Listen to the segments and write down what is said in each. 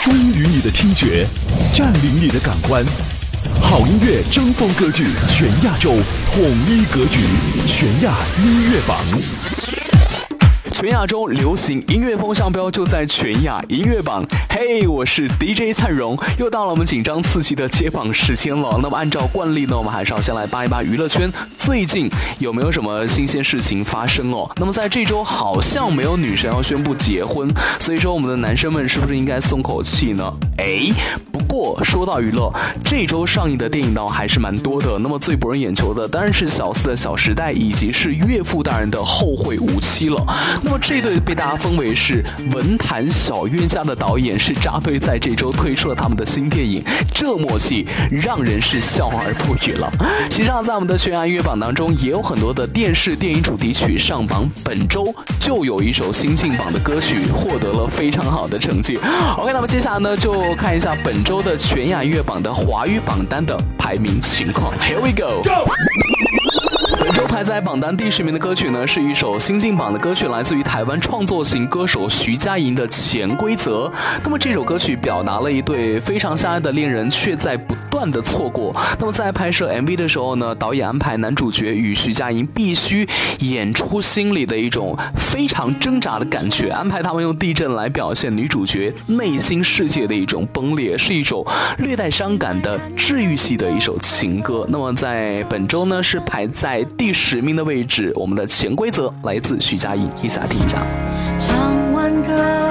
忠于你的听觉，占领你的感官。好音乐争锋歌剧全亚洲统一格局，全亚音乐榜。 全亚洲流行音乐风向标就在全亚音乐榜。嘿，我是 DJ 灿荣，又到了我们紧张刺激的揭榜时间了。那么按照惯例呢，我们还是要先来扒一扒娱乐圈最近有没有什么新鲜事情发生哦。那么在这周好像没有女神要宣布结婚，所以说我们的男生们是不是应该松口气呢？不过说到娱乐，这周上映的电影呢还是蛮多的。那么最博人眼球的当然是小四的《小时代》，以及是岳父大人的《后会无期》了。那么这对被大家封为是文坛小冤家的导演是扎堆在这周推出了他们的新电影，这默契让人是笑而不语了。其实在我们的全亚音乐榜当中也有很多的电视电影主题曲上榜，本周就有一首新进榜的歌曲获得了非常好的成绩。OK， 那么接下来呢就看一下本周的全亚音乐榜的华语榜单的排名情况。 Here we go， 本周排在榜单第10名的歌曲呢，是一首新进榜的歌曲，来自于台湾创作型歌手徐佳莹的《潜规则》。那么这首歌曲表达了一对非常相爱的恋人却在不断的错过。那么在拍摄 MV 的时候呢，导演安排男主角与徐佳莹必须演出心里的一种非常挣扎的感觉，安排他们用地震来表现女主角内心世界的一种崩裂，是一首略带伤感的治愈系的一首情歌。那么在本周呢是排在第10名的位置，我们的《潜规则》来自徐佳莹，一起来听一下。 唱完歌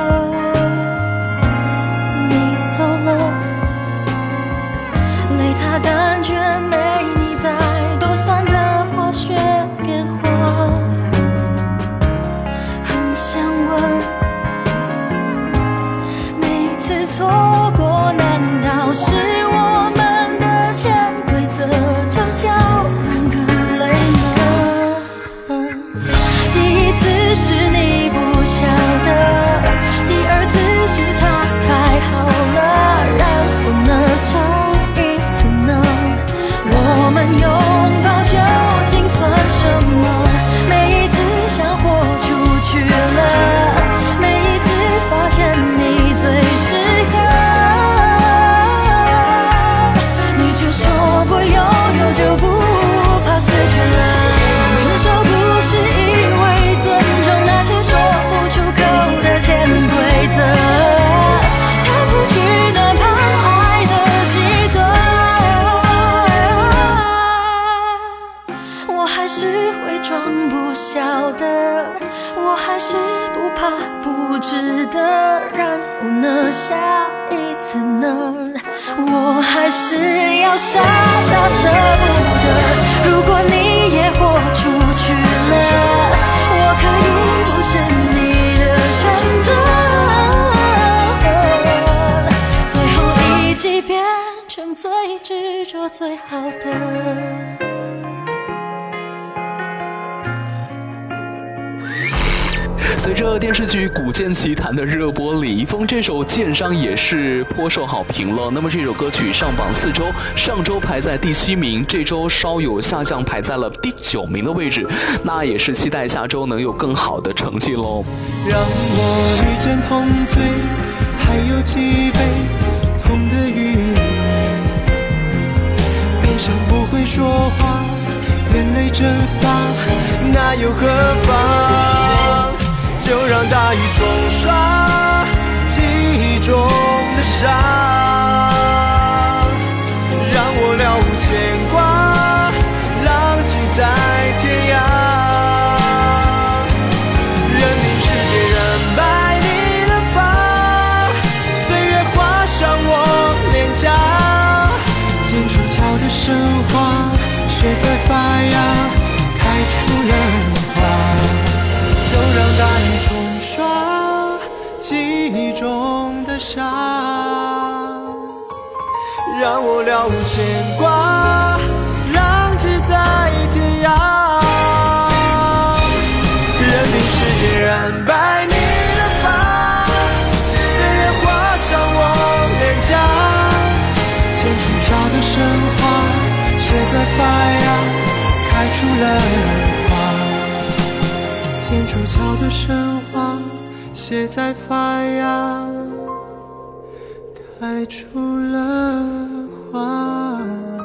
你走了，泪擦感觉没你在，多酸的化学变化，很想问，每次错过难道是我们的潜规则，就叫人更累呢？第一次是你不晓得，第二次是他太好了，然后呢这一次呢，我们拥抱究竟算什么？每一次想豁出去了，每一次发现你最适合，你却说过拥有就不怕失去了。成熟不是因为尊重那些说不出口的潜规则，太出去难怕爱的极端，我还是会装不晓得，我还是不怕不值得，然后呢下一次呢，我还是要傻傻舍不得。如果你也豁出去了，我可以不是你的选择，最后一击变成最执着最好的。 随着电视剧《古剑奇谭》的热播，李易峰这首《剑伤》也是颇受好评了。那么这首歌曲上榜4周，上周排在第7名，这周稍有下降，排在了第9名的位置。那也是期待下周能有更好的成绩喽。 让我遇见痛罪，还有几杯痛的余味，悲伤不会说话，眼泪蒸发，那又何妨？就让大雨冲刷记忆中的伤，让我了无牵挂，浪迹在天涯，任凭世界染白你的发，岁月画上我脸颊，剑出鞘的神话，雪在发芽，开出了花。就让大雨冲刷记忆中的伤，让我了无牵挂，浪迹在天涯，任凭时间染白你的发，岁月画上我脸颊，剑出鞘的神话，写在发芽，开出了剑出鞘的神话，写在发芽， 开出了花。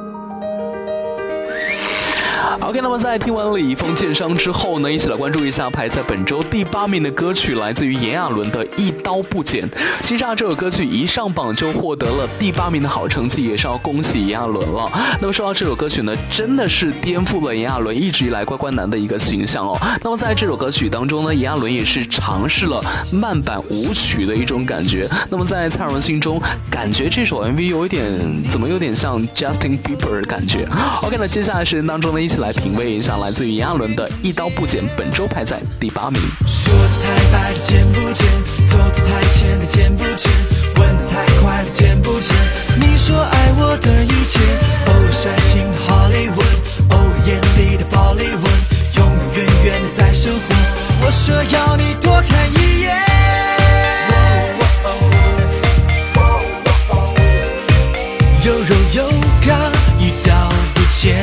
OK， 那么在听完李易峰剑伤之后呢，一起来关注一下排在本周第8名的歌曲，来自于炎亚纶的一刀不剪。其实这首歌曲一上榜就获得了第8名的好成绩，也是要恭喜炎亚纶了。那么说到这首歌曲呢，真的是颠覆了炎亚纶一直以来乖乖男的一个形象哦。那么在这首歌曲当中呢，炎亚纶也是尝试了慢板舞曲的一种感觉。那么在蔡荣心中，感觉这首 MV 有点像 Justin Bieber 的感觉。OK， 那接下来时间当中呢，一起来品味一下来自于炎亚纶的一刀不剪，本周排在第8名。 说的太白的剪不剪，走的太浅的剪不剪，问的太快的剪不剪。你说爱我的一切，煽情的 Hollywood， 眼里的宝丽文，永永远远的在生活。我说要你多看一眼，有柔有刚，一刀不剪。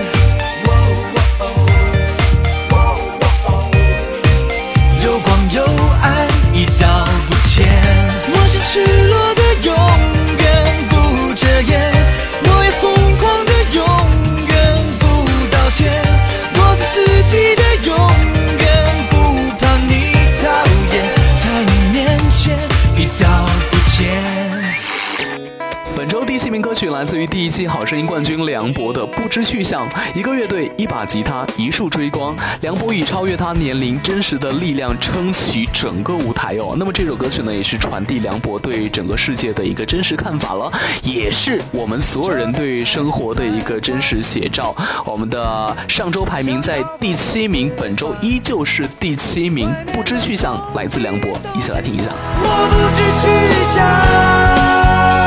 赤裸的永远不遮掩，我也疯狂的永远不道歉，我做自己的永远不怕你讨厌，在你面前一刀不剪。 本周第7名歌曲来自于第1季好声音冠军梁博的《不知去向》。一个乐队，一把吉他，一束追光，梁博以超越他年龄真实的力量撑起整个舞台哦。那么这首歌曲呢，也是传递梁博对整个世界的一个真实看法了，也是我们所有人对生活的一个真实写照。我们的上周排名在第7名，本周依旧是第7名，《不知去向》来自梁博，一起来听一下。 我不知去向。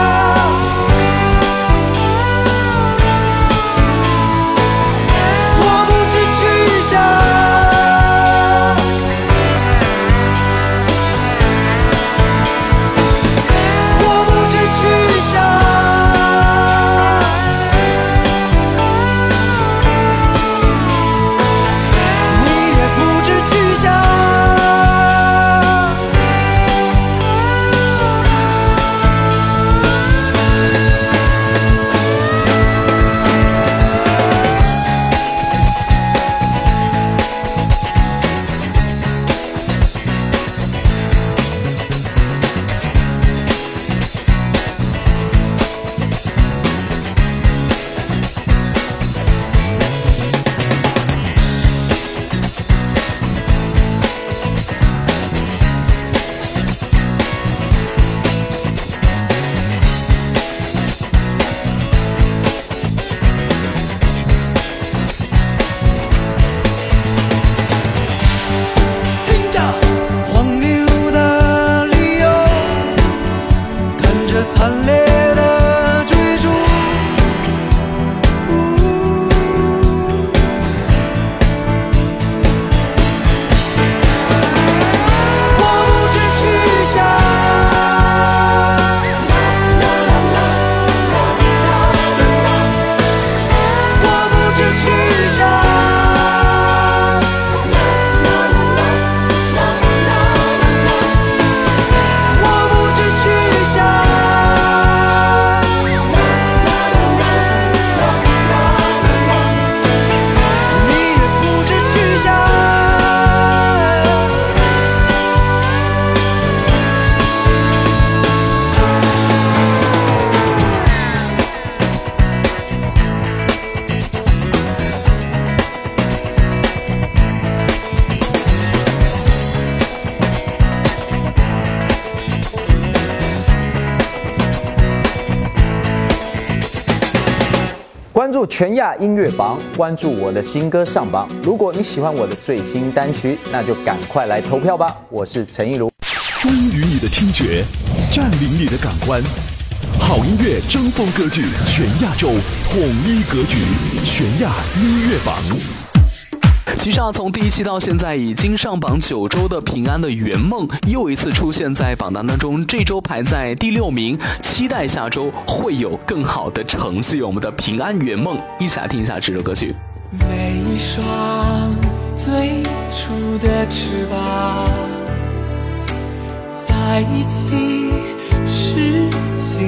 关注全亚音乐榜，关注我的新歌上榜。如果你喜欢我的最新单曲，那就赶快来投票吧！我是陈亦儒。 忠于你的听觉，占领你的感官。好音乐争锋歌剧全亚洲统一格局，全亚音乐榜。 其实从第1期到现在已经上榜9周的平安的圆梦又一次出现在榜单当中，这周排在第6名，期待下周会有更好的成绩。我们的平安圆梦，一起来听一下这首歌曲。 每一双最初的翅膀，在一起实行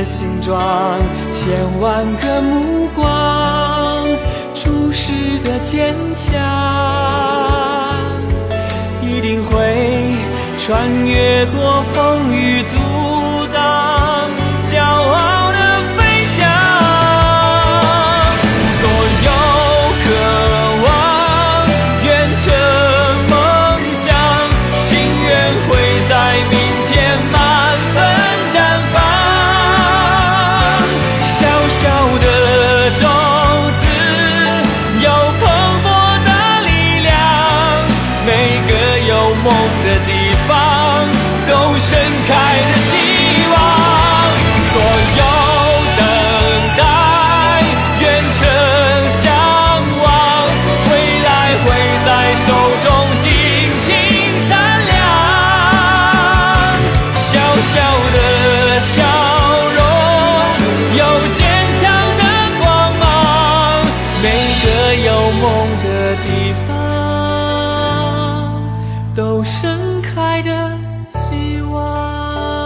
的形状，千万个目光注视的坚强，一定会穿越过风雨阻挡，骄傲的飞翔。所有渴望远程梦想，心愿会在明天满分绽放。小小的种子有蓬勃的力量，每个有梦的地方都盛开着希望。所有等待远程向往，未来会在手中尽情闪亮。小小的笑容有坚强的光芒，每个有梦的地方都盛开着希望。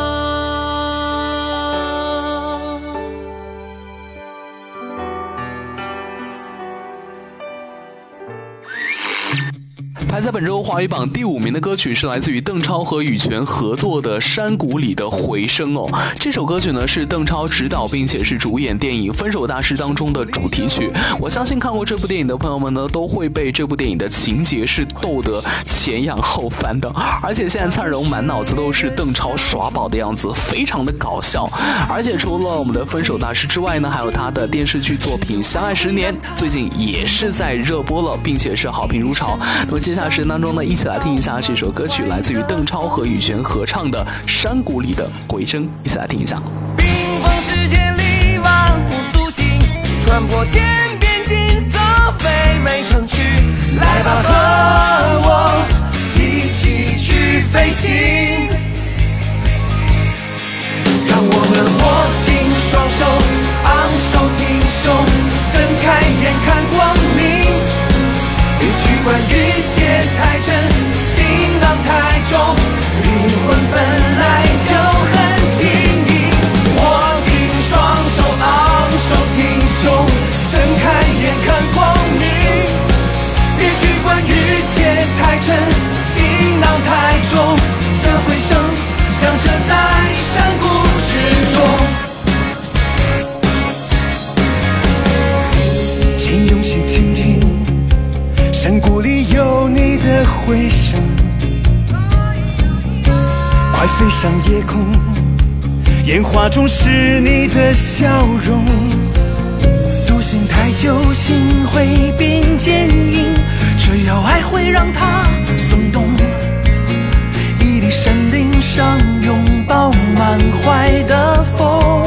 排在本周华语榜第5名的歌曲是来自于邓超和羽泉合作的《山谷里的回声》哦。这首歌曲呢是邓超执导并且是主演电影《分手大师》当中的主题曲。我相信看过这部电影的朋友们呢，都会被这部电影的情节是逗得前仰后翻的。而且现在灿荣满脑子都是邓超耍宝的样子，非常的搞笑。而且除了我们的《分手大师》之外呢，还有他的电视剧作品《相爱10年》，最近也是在热播了，并且是好评如潮。那么接下来时间当中呢，一起来听一下这首歌曲，来自于邓超和羽泉合唱的《山谷里的回声》，一起来听一下。 冰封世界里万物苏醒，穿破天边金色飞美城区，来吧和我一起去飞行，让我们握紧双手，昂首挺胸，睁开眼看光明，别去管雨鞋太沉，行囊太重，灵魂本来就很轻盈。握紧双手，昂首挺胸，睁开眼看光明，别去管雨鞋太沉，行囊太重，这回声响彻在山谷之中。请用心倾听，山谷里有你的回声，快飞上夜空，烟花中是你的笑容。独行太久，心会变坚硬，只要爱会让它松动。屹立山顶上，拥抱满怀的风。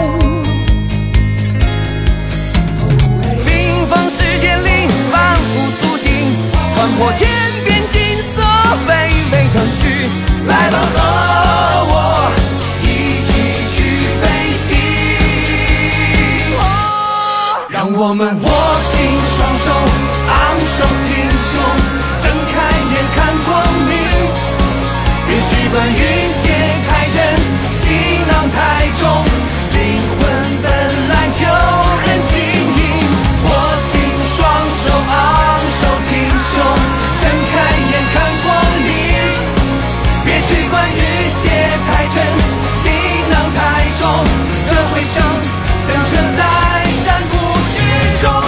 冰封世界里万物苏醒，穿破天边金色飞美城区，来吧和我一起去飞行。让我们握紧双手，昂首挺胸，睁开眼看光明，别去管雨鞋太沉，行囊太重，灵魂本来就很轻盈。握紧双手，昂首挺胸，睁开眼看光明，别去管雨鞋太沉，行囊太重，这回声响彻在山谷之中。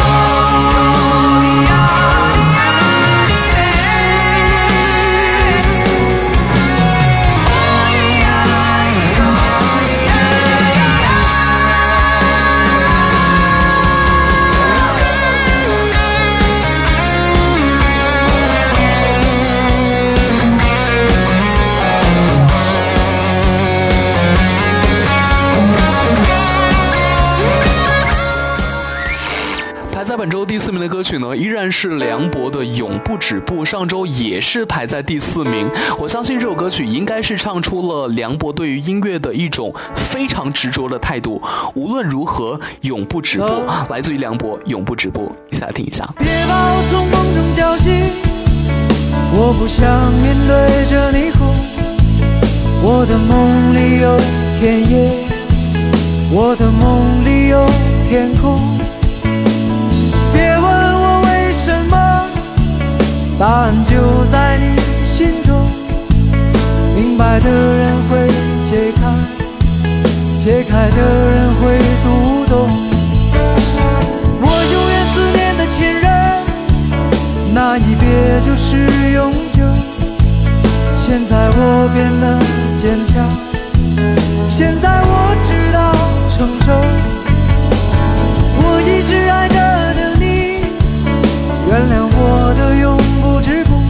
在本周第4名的歌曲呢，依然是梁博的《永不止步》，上周也是排在第4名。我相信这首歌曲应该是唱出了梁博对于音乐的一种非常执着的态度。无论如何，永不止步，来自于梁博《永不止步》，一起来听一下。 别把我从梦中叫醒，我不想面对着你哭。我的梦里有田野， 我的梦里有天空。别问我为什么，答案就在你心中。明白的人会解开，解开的人会读懂。我永远思念的亲人，那一别就是永久。现在我变得坚强，现在我知道承受。我一直爱着的你，原谅我的永不止步。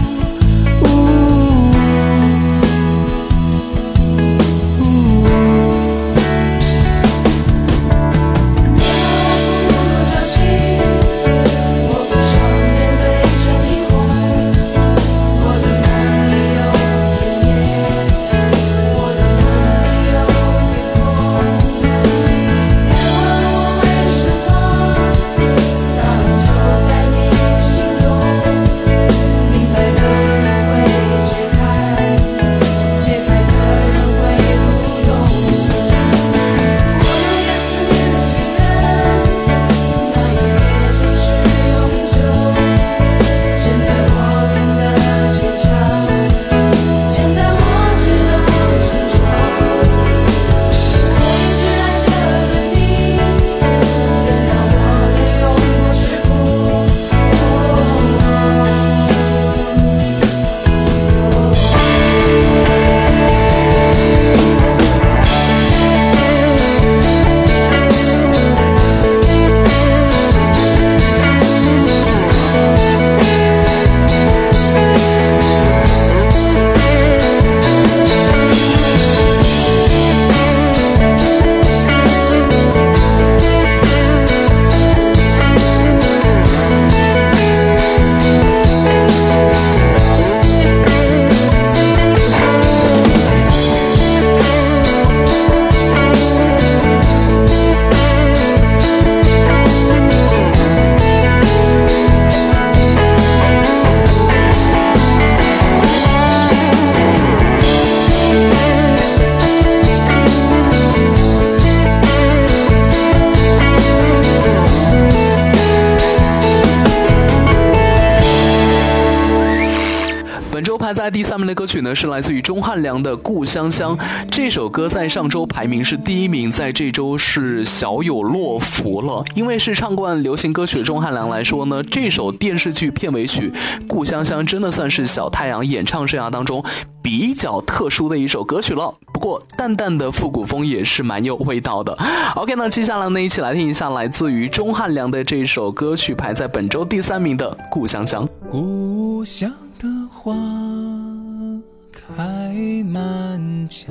在第3名的歌曲呢，是来自于钟汉良的《故乡乡》。这首歌在上周排名是第1名，在这周是小有落伏了。因为是唱惯流行歌曲的钟汉良来说呢，这首电视剧片尾曲《故乡乡》真的算是小太阳演唱生涯当中比较特殊的一首歌曲了。不过淡淡的复古风也是蛮有味道的。OK， 那接下来呢，一起来听一下来自于钟汉良的这首歌曲，排在本周第3名的《故乡乡》。 故乡的花开满墙，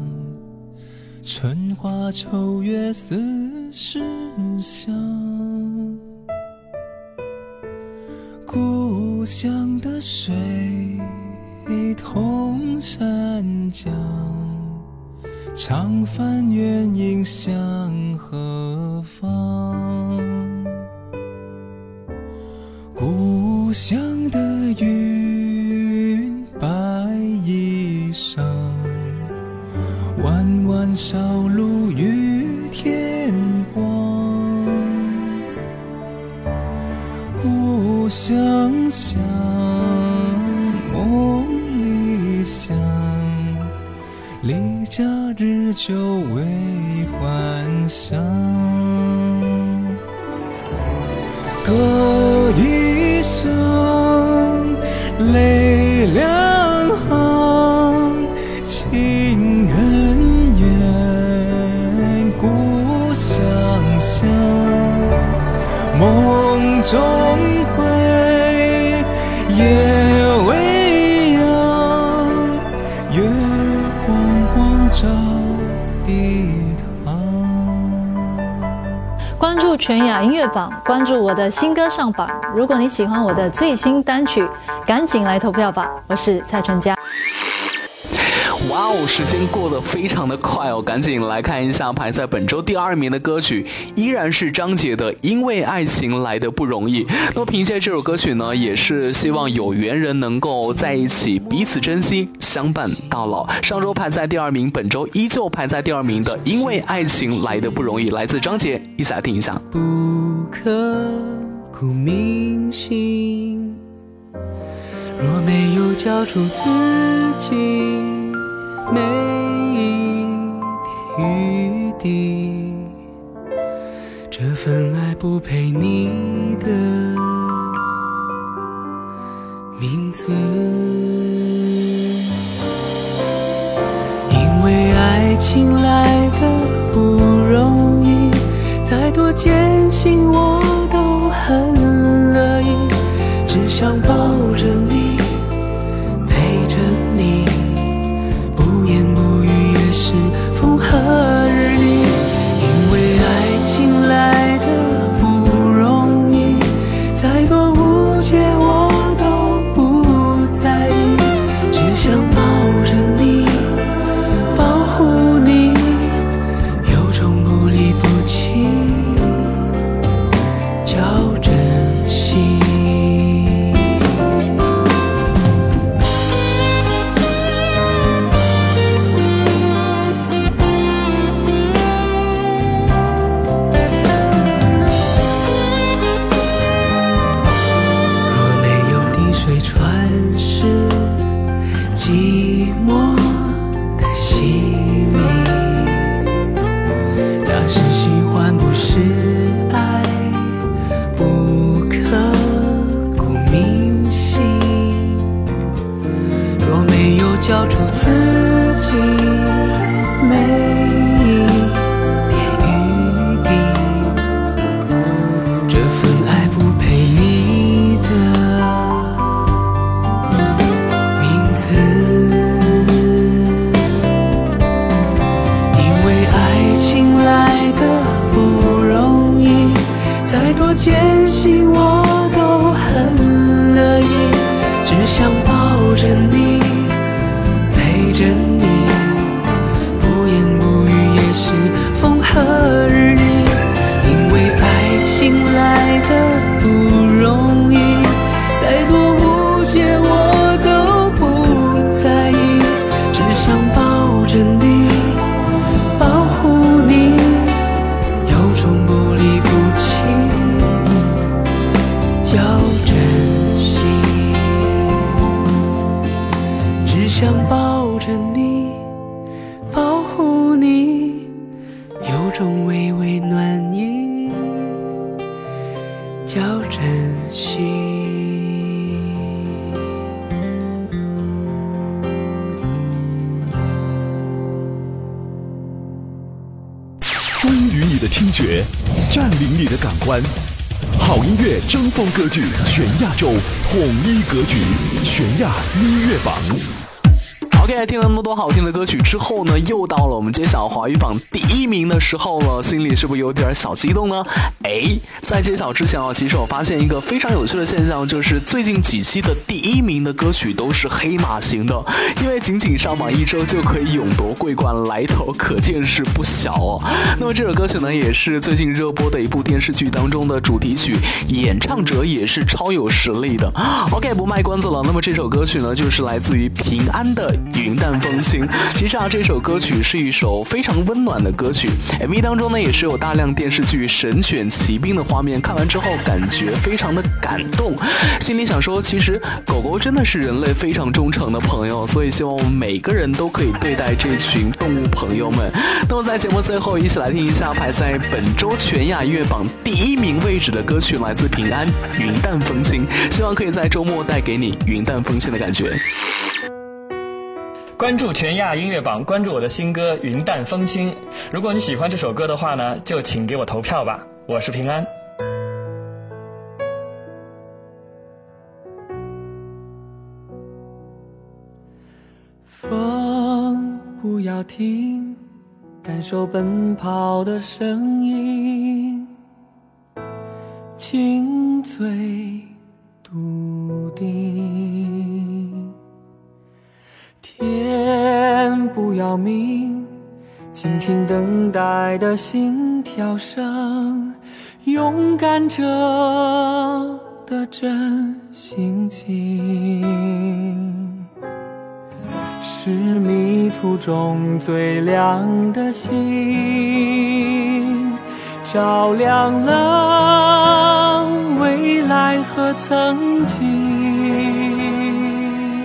春花秋月似时香。故乡的水通山江，长帆远影向何方？故乡的云白衣裳，弯弯小路与天光。故乡乡，梦里乡，离家日久为还乡。歌一声泪两行，情人怨故乡乡。梦中回，夜未央，月光光照地堂。 关注全亚音乐榜，关注我的新歌上榜。如果你喜欢我的最新单曲，赶紧来投票吧！我是蔡淳佳。 哇哇哦，时间过得非常的快哦，赶紧来看一下排在本周第2名的歌曲，依然是张杰的《因为爱情来得不容易》。那么凭借这首歌曲呢，也是希望有缘人能够在一起，彼此珍惜，相伴到老。上周排在第2名，本周依旧排在第2名的《因为爱情来得不容易》，来自张杰，一起来听一下。 不刻骨铭心，若没有交出自己每一点余地，这份爱不配你的名字。因为爱情来的不容易，再多艰辛我都很乐意，只想抱着你，陪着你，不言不语也是风和日丽。因为爱情来的不容易，再多误解我都不在意，只想抱着你，保护你，有种不离不弃叫珍惜。寂寞的洗礼，那是喜欢不是爱，不刻骨铭心。若没有交出自己每一点余地，这份爱不配你的艰辛我都很乐意，只想抱着你，陪着你，不言不语也是风和日丽。因为爱情来的不容易，再多误解我都不在意，只想抱着你，保护你，有种不离不弃叫珍惜，只想抱着你，保护你，有种微微暖意叫珍惜。 忠于你的听觉，占领你的感官。好音乐争锋歌剧全亚洲统一格局，全亚音乐榜。 OK， 听了那么多好听的歌曲之后呢，又到了我们揭晓华语榜第1名的时候了，心里是不是有点小激动呢？在揭晓之前啊，其实我发现一个非常有趣的现象，就是最近几期的第1名的歌曲都是黑马型的，因为仅仅上榜1周就可以勇夺桂冠，来头可见是不小哦。那么这首歌曲呢，也是最近热播的一部电视剧当中的主题曲，演唱者也是超有实力的。OK， 不卖关子了，那么这首歌曲呢，就是来自于平安的云淡风轻。其实啊，这首歌曲是一首非常温暖的歌曲， MV 当中呢也是有大量电视剧神犬骑兵的画面，看完之后感觉非常的感动，心里想说，其实狗狗真的是人类非常忠诚的朋友，所以希望我们每个人都可以对待这群动物朋友们。那么在节目最后，一起来听一下排在本周全亚音乐榜第1名位置的歌曲，来自平安云淡风轻，希望可以在周末带给你云淡风轻的感觉。 关注全亚音乐榜，关注我的新歌《云淡风轻》。如果你喜欢这首歌的话呢，就请给我投票吧。我是平安。 风不要停，感受奔跑的声音，轻醉笃定。天不要命，倾听等待的心跳声，勇敢者的真性情，是迷途中最亮的星，照亮了未来和曾经，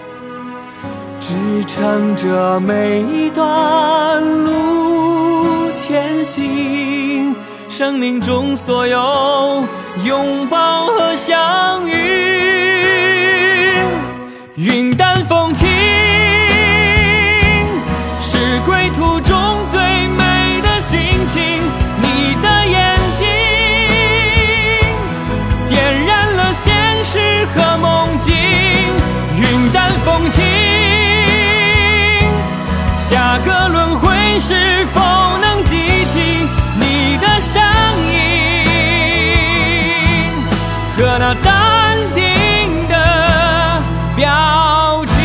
支撑着每一段路前行，生命中所有拥抱和相遇，云淡风轻是归途中最美的心情，你的眼睛点燃了现实和梦境，云淡风轻，下个轮回是否能记起你的身影和那淡定的表情。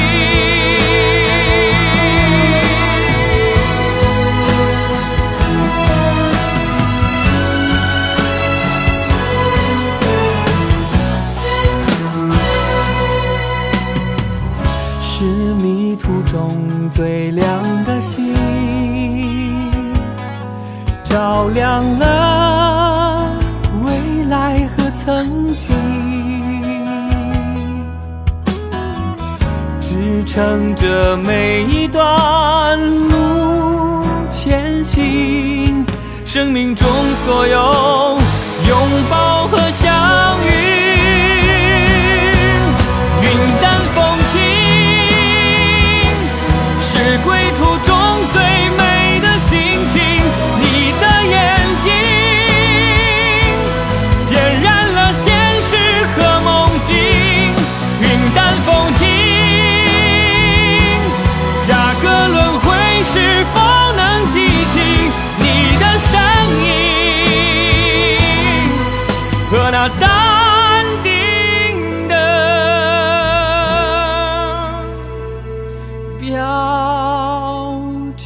是迷途中最亮的星，照亮了未来和曾经，支撑着每一段路前行，生命中所有拥抱和相遇，云淡风轻是归途中最美的心情，你的眼睛点燃了现实和梦境，云淡风轻，下个轮回是否能记起你的身影和那淡定的表情。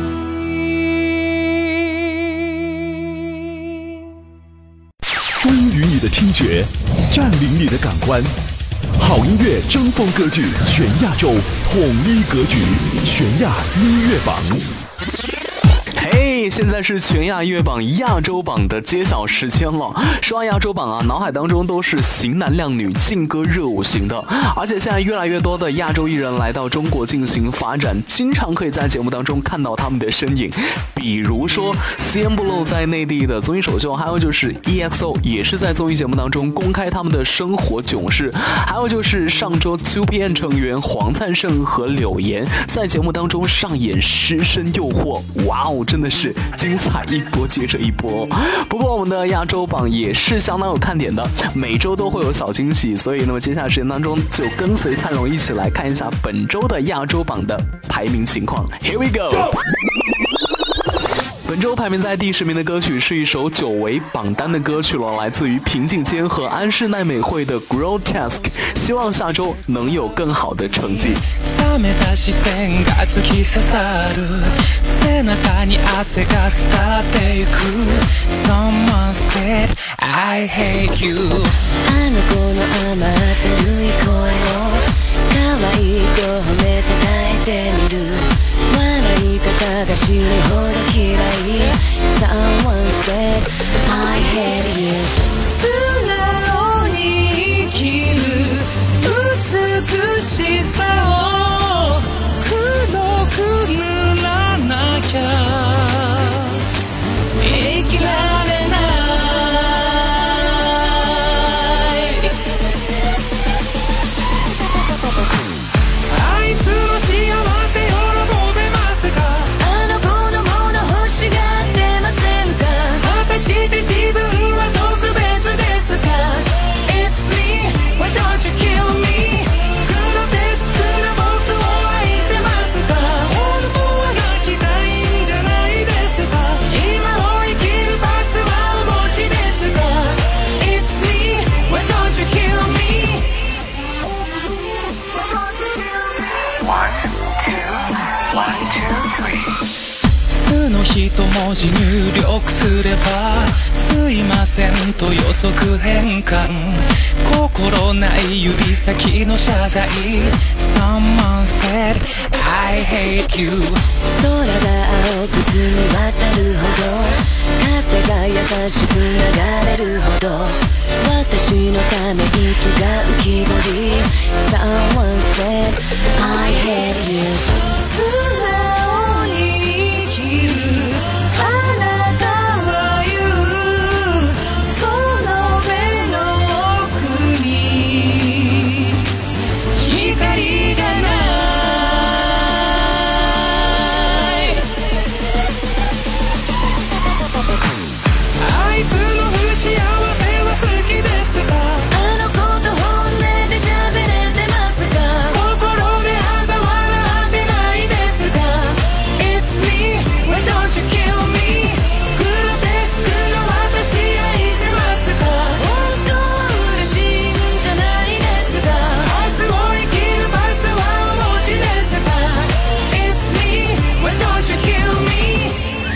忠于你的听觉，占领你的感官，好音乐争锋歌剧全亚洲统一格局，全亚音乐榜。 嘿，现在是全亚音乐榜亚洲榜的揭晓时间了。说完亚洲榜啊，脑海当中都是型男靓女、劲歌热舞型的，而且现在越来越多的亚洲艺人来到中国进行发展，经常可以在节目当中看到他们的身影。比如说 CNBLUE 在内地的综艺首秀，还有就是 EXO 也是在综艺节目当中公开他们的生活囧事，还有就是上周 2PM 成员黄灿盛和柳岩在节目当中上演师生诱惑，哇哦，真的是精彩一波接着一波。不过我们的亚洲榜也是相当有看点的，每周都会有小惊喜，所以那么接下来时间当中就跟随灿荣一起来看一下本周的亚洲榜的排名情况。 Here we go。本周排名在第10名的歌曲是一首久违榜单的歌曲了，来自于平井坚和安室奈美惠的 Grotesque， 希望下周能有更好的成绩。 冷めた視線が突き刺さる背中に汗が伝ってゆく Someone said I hate you あの子の甘ったるい声を可愛いと褒めたたえてみる笑い方が死ぬほど嫌い Someone said I hate you 素直に生きる美しさを黒く塗らなきゃ生きられない文字入力すればすいませんと予測変換心ない指先の謝罪 Someone said I hate you 空が青く澄み渡るほど風が優しく流れるほど私のため息が浮き彫り Someone said I hate you 素直に生きるあなたは言うその目の奥に光がないあいつの不幸せは好きですかあの子と本音で喋れてますか心で嘲笑ってないですか It's me, why don't you kill me グロテスクの私愛せますか本当は嬉しいんじゃないですか明日を生きるパスはお持ちですか It's me, why don't you kill me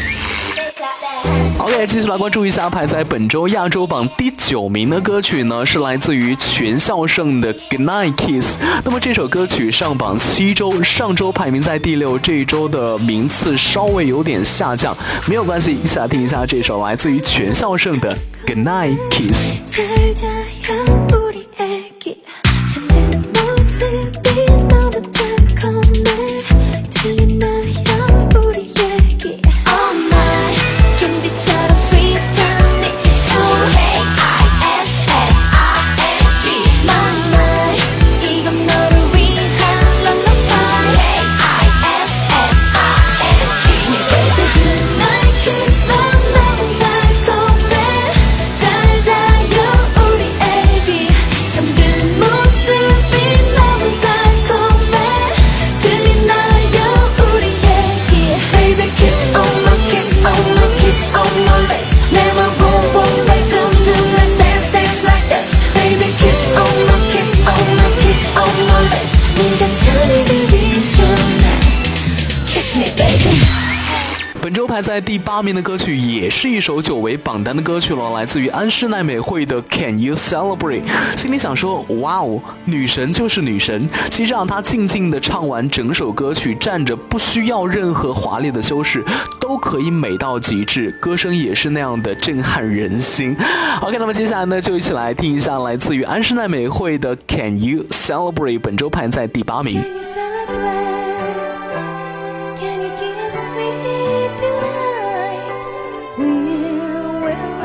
OK， 继续来关注一下排在本周亚洲榜第9名的歌曲呢，是来自于全孝盛的 Goodnight Kiss。那么这首歌曲上榜7周，上周排名在第6，这一周的名次稍微有点下降，没有关系，一起来听一下这首来自于全孝盛的 Goodnight Kiss。 잘 자요 우리 애기 잠든 모습이 너무 달콤해 들리나요 우리 얘기 Oh my 캔디처럼 sweet한 네 입술 Hey I-S-S-I-N-G My my 이건 너를 위한 lullaby Hey I-S-S-I-N-G Baby goodnight kiss 너무 달콤해 잘 자요 우리 애기 잠든 모습이 너무 달콤해 들리나요 우리 얘기 Baby kiss on my kiss on my kiss on my lips Never boom boom like zoom zoom let's dance dance like this Baby kiss on my kiss on my kiss on my lips 네가 저를 들기 전에 Kiss me baby 本周排在第8名的歌曲也是一首久违榜单的歌曲了，来自于安室奈美惠的 Can You Celebrate。 心里想说，哇哦，女神就是女神，其实让她静静地唱完整首歌曲，站着不需要任何华丽的修饰，都可以美到极致，歌声也是那样的震撼人心。 OK， 那么接下来呢，就一起来听一下来自于安室奈美惠的 Can You Celebrate， 本周排在第8名。 Can you celebrate? Can you kiss me tonight? We'll wait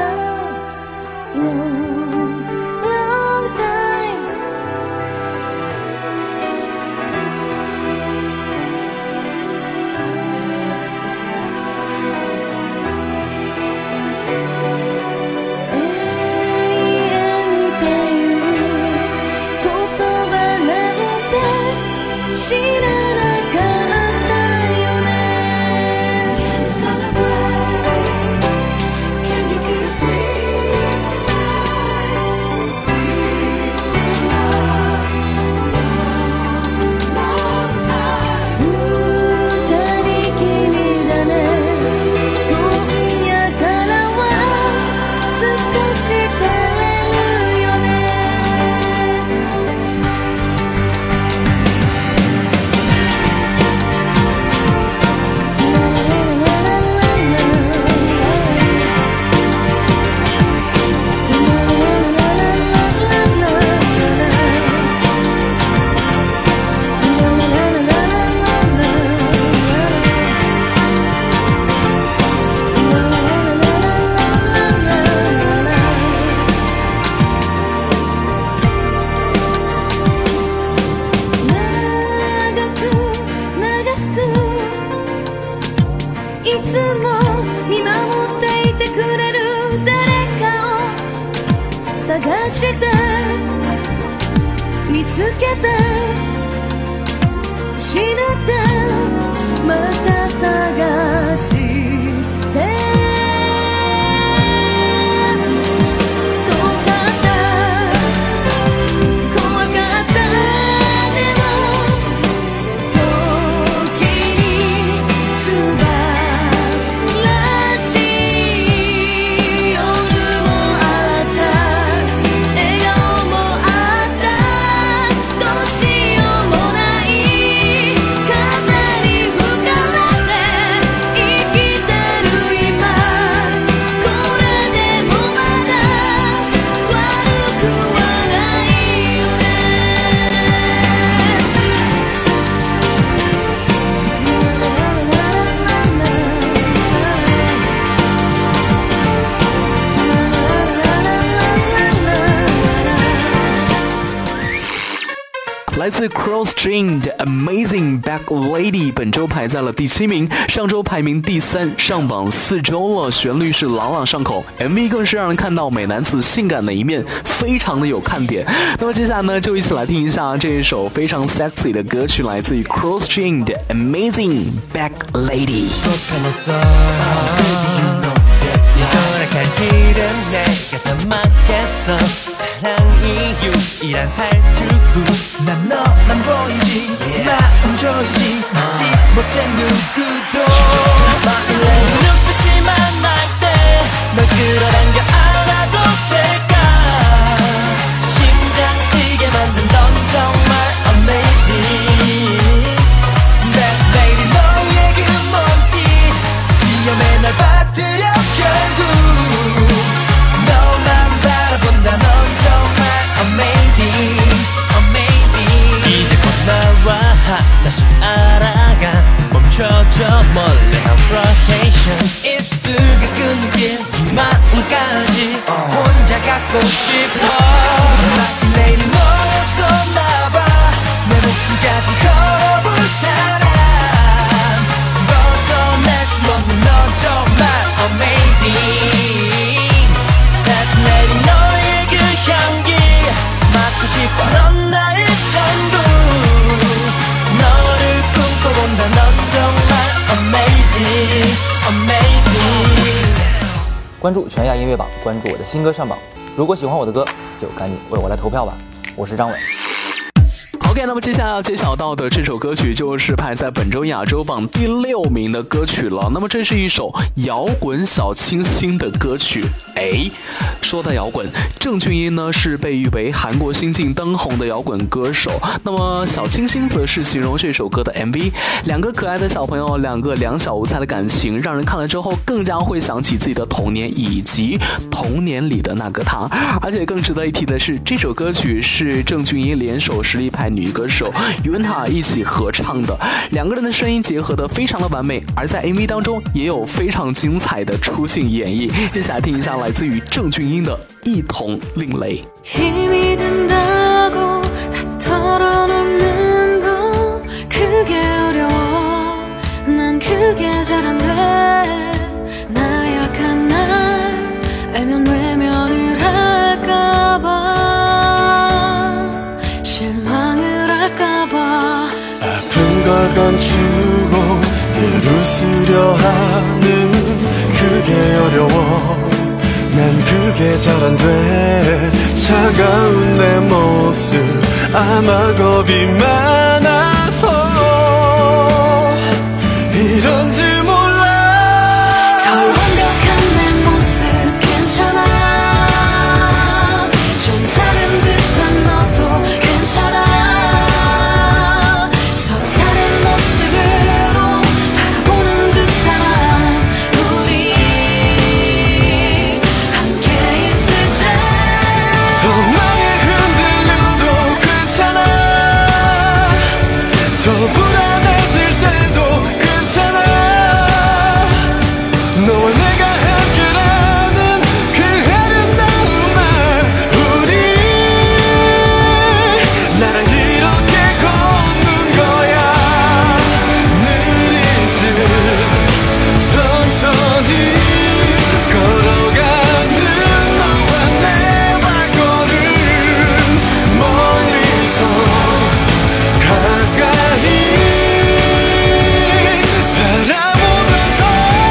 long, long time. 애인한테言葉なんて知らなかったよね Can you celebrate? Can you kiss me tonight? Long time 二人きりだね今夜からは少し照れるよねいつも見守っていてくれる誰かを探して見つけた失ったまた探してし来自 Cross String 的 Amazing Back Lady 本周排在了第7名，上周排名第3，上榜4周了。旋律是朗朗上口， MV 更是让人看到美男子性感的一面，非常的有看点。那么接下来呢，就一起来听一下这一首非常 sexy 的歌曲，来自于 Cross String 的 Amazing Back Lady。 돌아갈 길은 내가 다 막겠어 사랑이 유일한 탈출구 난 너만 보이지 마음 조이지 맞지 못해 누구도 My lady 눈빛이 만날 때 널 끌어당겨 안아도 될까 심장 뛰게 만든 넌 정말 amazing That lady 너의 그 몸짓 시험에 날 받들여 결국 너만 바라본다 넌 정말 amazing amazing 이제 곧 나와 하나씩 알아가 멈춰줘 몰래 한 rotation 입술을 끊는 길 네 마음까지 혼자 갖고 싶어 My lady 너였었나봐 내 목숨까지 걸어볼 사람 벗어날 수 없는 넌 정말 amazing That lady 너의 그 향기 맡고 싶어 넌 나의 전부 너를 꿈꿔본다 넌 정말 amazing amazing 关注全亚音乐榜，关注我的新歌上榜。如果喜欢我的歌，就赶紧为我来投票吧。我是张伟。 OK， 那么接下来要揭晓到的这首歌曲就是排在本周亚洲榜第6名的歌曲了。那么这是一首摇滚小清新的歌曲。说到摇滚，郑俊英呢是被誉为韩国新晋当红的摇滚歌手。那么小清新则是形容这首歌的 MV。两个可爱的小朋友，两个两小无猜的感情，让人看了之后更加会想起自己的童年以及童年里的那个他。而且更值得一提的是，这首歌曲是郑俊英联手实力派女歌手云塔一起合唱的，两个人的声音结合得非常的完美，而在 MV 当中也有非常精彩的出镜演绎。接下来听一下来自于郑俊英的一同另类。 힘이 든다고 다 털어놓는 거 그게 어려워 난 그게 잘 안 돼 나약한 날 알면 외면을 할까봐 실망을 할까봐 아픈 걸 감추고 늘 웃으려 하는 그게 어려워 난 그게 잘 안 돼 차가운 내 모습 아마 겁이 많아서 이런지 몰라 덜 완벽한 내 모습 괜찮아 좀 다른 듯한 너도 괜찮아 서로 다른 모습으로 바라보는 두 사람 우리 함께 있을 때 더 많이 흔들려도 괜찮아 더 불안해질 때도 괜찮아 너와 내가 함께라는 그 아름다운 말 우리 나랑 이렇게 걷는 거야 느리게 천천히 걸어가는 너와 내 발걸음 멀리서 가까이 바라보면서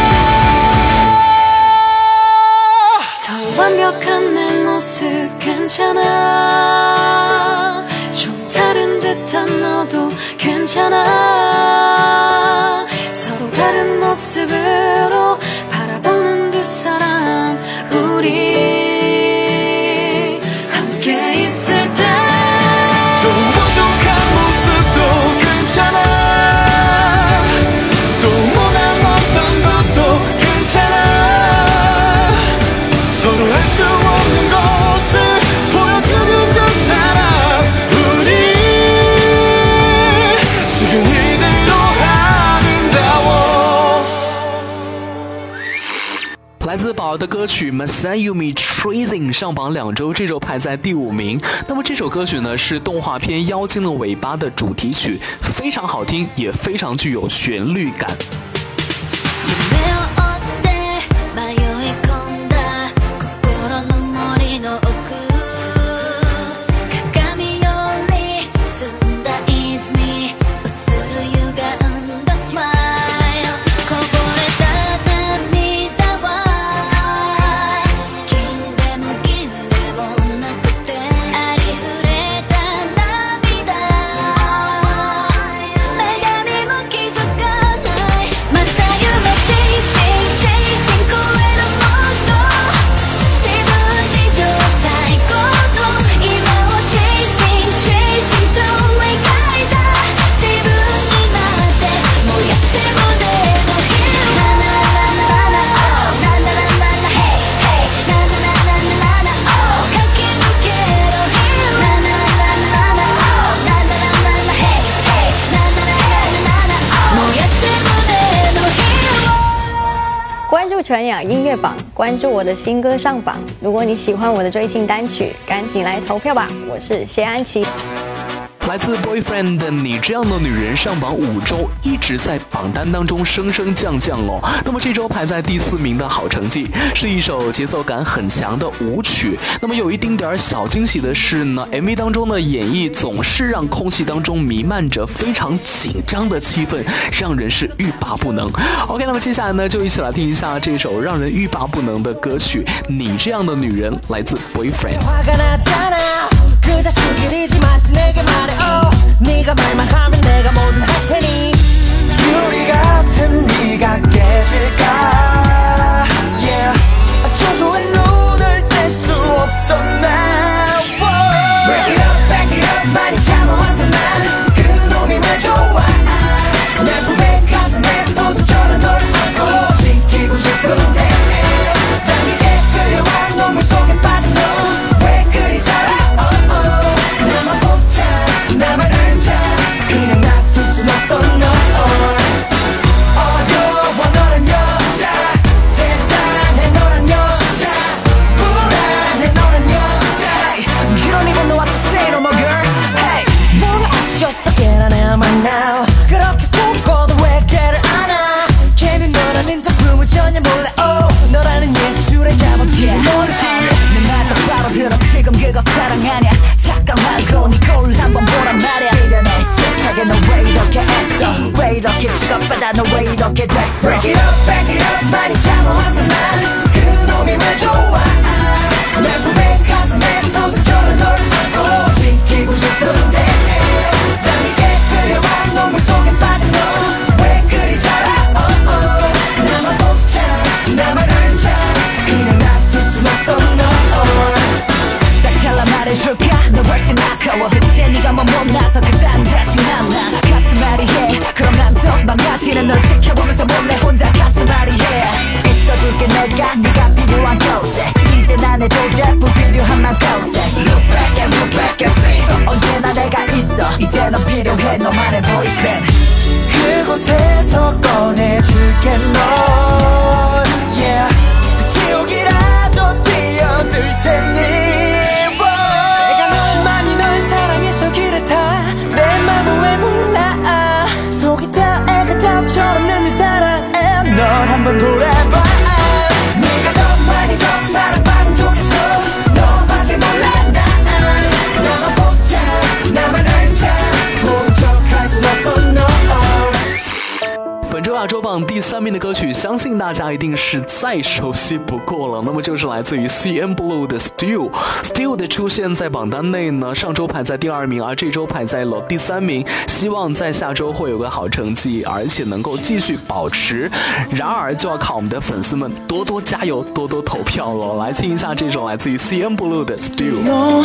더 완벽한 내 모습 괜찮아 좀 다른 듯한 너도 괜찮아 서로 다른 모습으로 바라보는 두 사람 우리 함께 있을 때 좀 부족한 모습도 괜찮아 또 못한 어떤 것도 괜찮아 서로 할 수 없는 것을 보여주는 두 사람 우리 지금 이대로 아름다워 来自宝儿的歌曲 Masayumi Tracing 上榜2周，这周排在第5名。那么这首歌曲呢是动画片《妖精的尾巴》的主题曲，非常好听，也非常具有旋律感。 全雅音乐榜，关注我的新歌上榜。如果你喜欢我的最新单曲，赶紧来投票吧！我是谢安琪。 来自 Boyfriend 的你这样的女人上榜5周，一直在榜单当中升升降降哦。那么这周排在第4名的好成绩，是一首节奏感很强的舞曲。那么有一丁点小惊喜的是呢 ，MV 当中的演绎总是让空气当中弥漫着非常紧张的气氛，让人是欲罢不能。OK， 那么接下来呢，就一起来听一下这首让人欲罢不能的歌曲《你这样的女人》，来自 Boyfriend。 네가 말만 하면 내가 뭐든 할 테니 유리 같은 네가 깨질까 yeah 초조한 눈을 뗄 수 없어 now Break it up back it up 많이 참아왔어 난 그놈이면 좋아 내 품에 가슴에 부서져라 널 안고 지키고 싶은데 당기게 끌려와 눈물 속에 빠진 너 왜 그리 살아 나만 보자 나만 그냥 놔둘 순 없어 no 어려워 너란 여자 대단해 너란 여자 불안해 너란 여자 You don't even know what to say no more girl Hey 뭐가 아쉬웠어 깨어나야만 now 그렇게 속고도 왜 걔를 안아 걔는 너라는 작품을 전혀 몰라 oh 너라는 예술의 값어치를 모르지 내 말 똑바로 들어 지금 그거 사랑 아냐 잠깐 말고 네 거울 한번 보란 말이야 미련해 너 왜 이렇게 애써 왜 이렇게 취급받아 너 왜 이렇게 됐어 Break it up back it up 많이 참아왔어 난 그놈이면 좋아 내 품에 가슴에 부서져라 널 안고 지키고 싶은데 당기게 끌려와 눈물 속에 빠진 너 왜 그리 살아 나만 보자 나만 알자 그냥 놔둘 순 없어 no 딱 잘라 말해줄까 너 훨씬 아까워 대체 네가 뭐 못나서 그딴 자신 안나 가슴앓이 해 그럼 난 더 망가지는 널 지켜보면서 몰래 혼자 가슴앓이 해 있어줄게 내가 네가 필요한 곳에 이제 난 해도 돼 불필요한 만 곳에 Look back and see 언제나 내가 있어 이제 넌 필요해 너만의 boyfriend 그곳에서 꺼내줄게 널 Yeah 지옥이라도 뛰어들 테니 내 맘은 왜 몰라 속이 다 애가 닭처럼 내 사랑에 널 한번 돌아봐 네가 더 많이 더 사랑받으면 좋겠어 너밖에 몰라 나만 보자 나만 알자 모른 척할 순 없어 no 本周亚洲榜第3名的歌曲，相信大家一定是再熟悉不过了。那么就是来自于 CNBLUE 的 Still 的出现在榜单内呢，上周排在第2名，而这周排在了第3名。希望在下周会有个好成绩，而且能够继续保持。然而就要靠我们的粉丝们多多加油，多多投票了。来听一下这首来自于 CNBLUE 的 Still。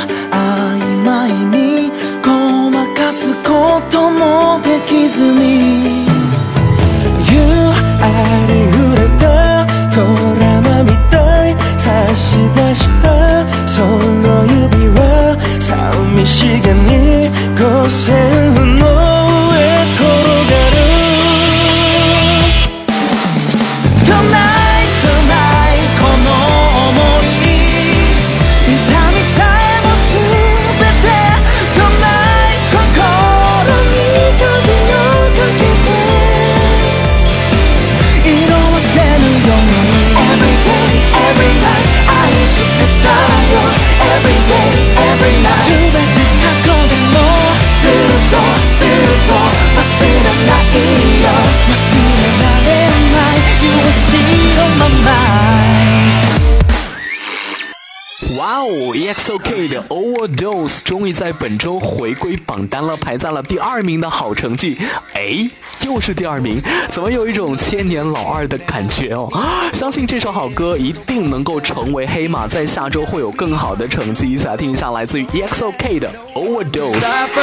유아를 흐렸다 도라마 밑에 다시 다 서로 유리와 싸움의 시간이 고생은 너의 걸어가는 Tonight 哇哦 ，EXO-K 的 Overdose 终于在本周回归榜单了，排在了第2名的好成绩。哎，又是第2名，怎么有一种千年老二的感觉哦？相信这首好歌一定能够成为黑马，在下周会有更好的成绩。一起来听一下来自于 EXO-K 的 Overdose。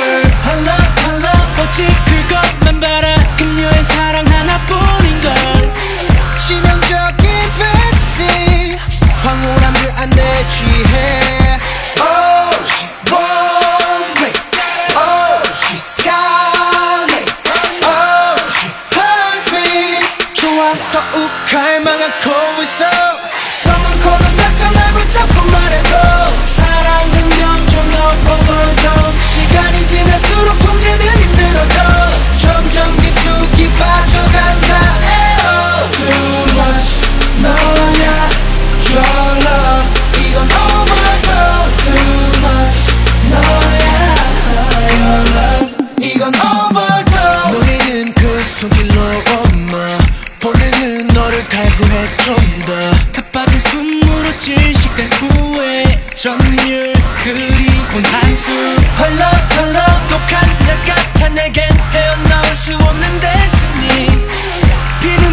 황홀한 그 안에 취해 Oh, she wants me Oh, she's got me Oh, she hurts me 좋아 더욱 갈망하고 있어 Someone call the doctor 날 붙잡고 말해줘 사랑은 영중 overdose 시간이 지날수록 통제는 힘들어져 점점 깊숙이 빠져간다 에어 Too much 너야 Your love 이건 overdose Too much 너야 Your love 이건 overdose 노래는 그 손길로 엄마 보내는 너를 갈구해 좀 더 가빠진 숨으로 질식된 후회 점률 그리고 한숨 Her love 독한 약 같아 내겐 헤어나올 수 없는 destiny 비는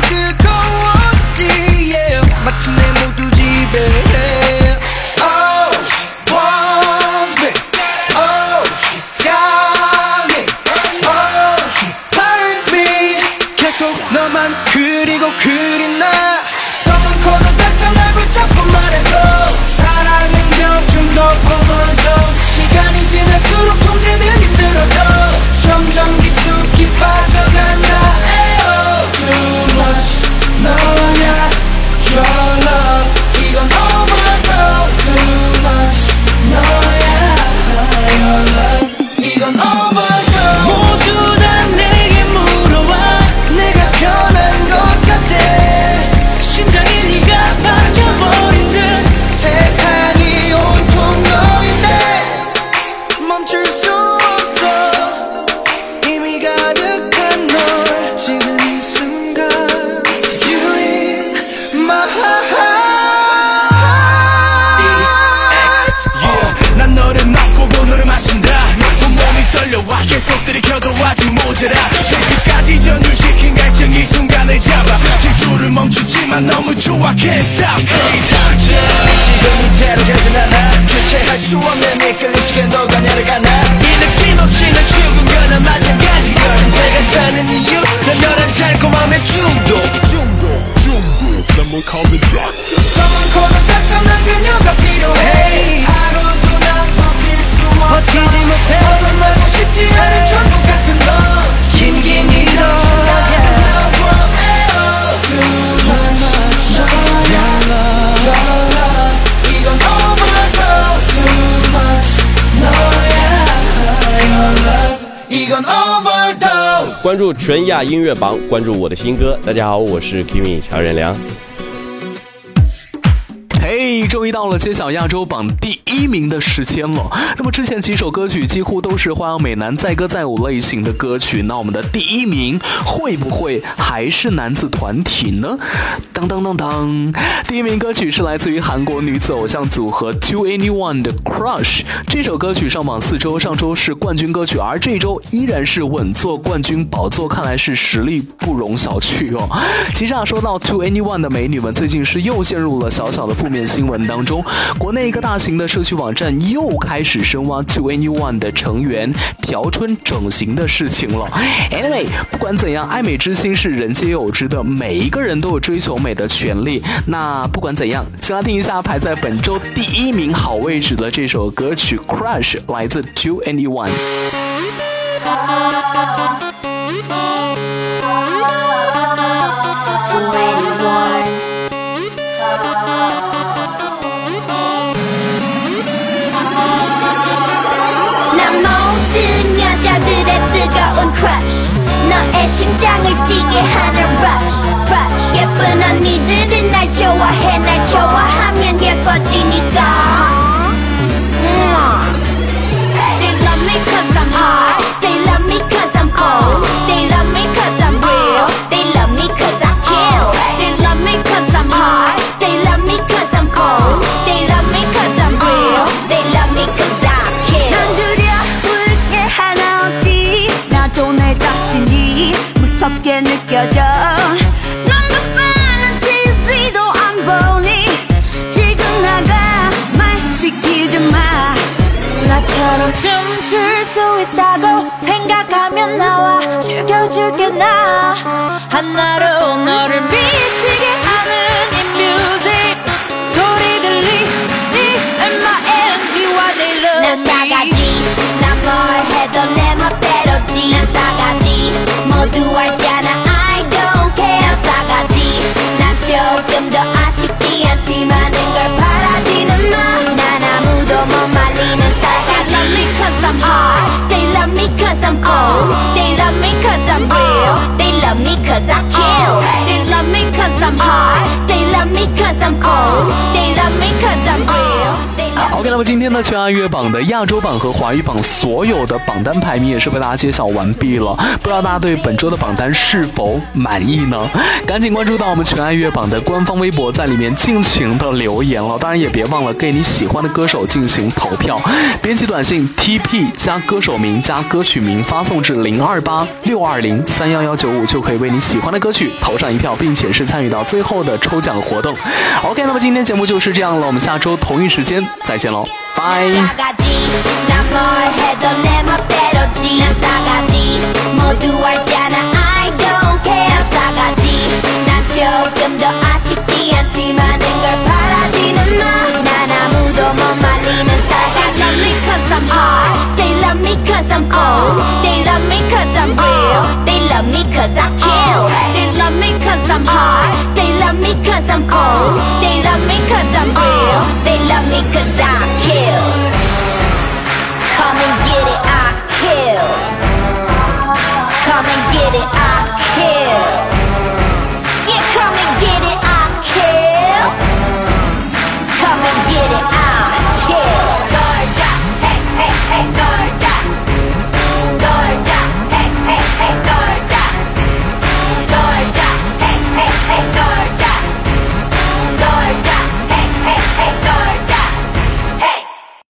뜨거워지지 yeah. 마침내 모두 지배해 Oh, she wants me Oh, she's got me Oh, she hurts me 계속 너만 그리고 그리나 Someone call the doctor 날 붙잡고 말해줘 사랑은 병중 너 overdose 시간이 지날수록 통제는 힘들어져 점점 깊숙이 빠져간다 에어 Too much 너야 Your love 이건 overdose Too much 너야 Your love 이건 overdose 모두 다 내게 물어와 내가 변한 것 같아 심장이 네가 바뀌어버린 듯 세상이 온통 너인데 멈출 수 없어 이미 가득한 널 지금 이 순간 You in my heart yeah. 난 너를 맛보고 너를 마신다 온몸이 떨려와 계속 들이켜도 아직 모자라 끝까지 전율시킨 갈증 이 순간을 잡아 질주를 멈추지만 너무 좋아 Can't stop Hey doctor 지금 이대로 가진 않아 주체할 수 없는 이끌림 속에 너가 내려가나 이 느낌 없이 난 죽은 거나 마찬가지야 내가 사는 이유 난 너란 달콤함의 중독 Someone call the doctor Someone call the doctor 난 그녀가 필요해 하루도 난 버틸 수 없어 버티지 못해 벗어나고 싶지 않은 천국 같은 너 긴긴 이런 Too much Your love 이건 overdose Too much 너야 Your love 이건 overdose 关注全亚音乐榜，关注我的新歌。大家好，我是 Kimi 乔任梁。 嘿，终于到了揭晓亚洲榜第1名的时间了。那么之前几首歌曲几乎都是花样美男载歌载舞类型的歌曲，那我们的第1名会不会还是男子团体呢？当当当当，第1名歌曲是来自于韩国女子偶像组合 2NE1 的 Crush。这首歌曲上榜4周，上周是冠军歌曲，而这周依然是稳坐冠军宝座，看来是实力不容小觑哦。其实说到 2NE1 的美女们，最近是又陷入了小小的负面新闻当中，国内一个大型的社区网站又开始深挖 2NE1 的成员朴春整形的事情了。Anyway， 不管怎样，爱美之心是人皆有之的，每一个人都有追求美的权利。那不管怎样，先来听一下排在本周第1名好位置的这首歌曲 Crush， 来自 2NE1。 Crush 너의 심장을 뛰게 하는 rush rush 예쁜 언니들은 날 좋아해 날 좋아하면 예뻐지니까 They love me cause I'm hot They love me cause I'm cold They love me cause I'm real They love me cause I kill They love me cause I'm hot They love me cause I'm cold They love me cause I'm real 너처럼 춤출 수 있다고 생각하면 나와 죽여줄게 나 하나로 너를 미치게 하는 이 뮤직 소리 들리니 M.I.N.G.Y they love me 난 싸가지 난 뭘 해도 내 멋대로지 난 싸가지 모두 알잖아 I don't care 난 싸가지 난 조금 더 아쉽지 않지만 걸 바라지는 마 난 아무도 못 말리는 싸가지 They love me cause I'm hard They love me cause I'm cold They love me cause I'm real They love me cause I kill They love me cause I'm hard They love me cause I'm cold They love me cause I'm real OK， 那么今天的全亚乐榜的亚洲榜和华语榜所有的榜单排名也是被大家揭晓完毕了，不知道大家对本周的榜单是否满意呢？赶紧关注到我们全亚乐榜的官方微博，在里面尽情的留言了。当然也别忘了给你喜欢的歌手进行投票，编辑短信 TP 加歌手名加歌曲名发送至02862031195，就可以为你喜欢的歌曲投上一票，并且是参与到最后的抽奖活动。OK， 那么今天节目就是这样了，我们下周同一时间再见喽，拜。 조금 더 아쉽지 않지만 걸 바라지는 마 난 아무도 못 말리는 싸가지 They love me cause I'm hard They love me cause I'm cold They love me cause I'm real They love me cause I kill They love me cause I'm hard They love me cause I'm cold They love me cause I'm real They love me cause I kill Come and get it, I kill Come and get it, I kill Come and get it, I kill. Come and get it, I kill. Hey, hey, hey,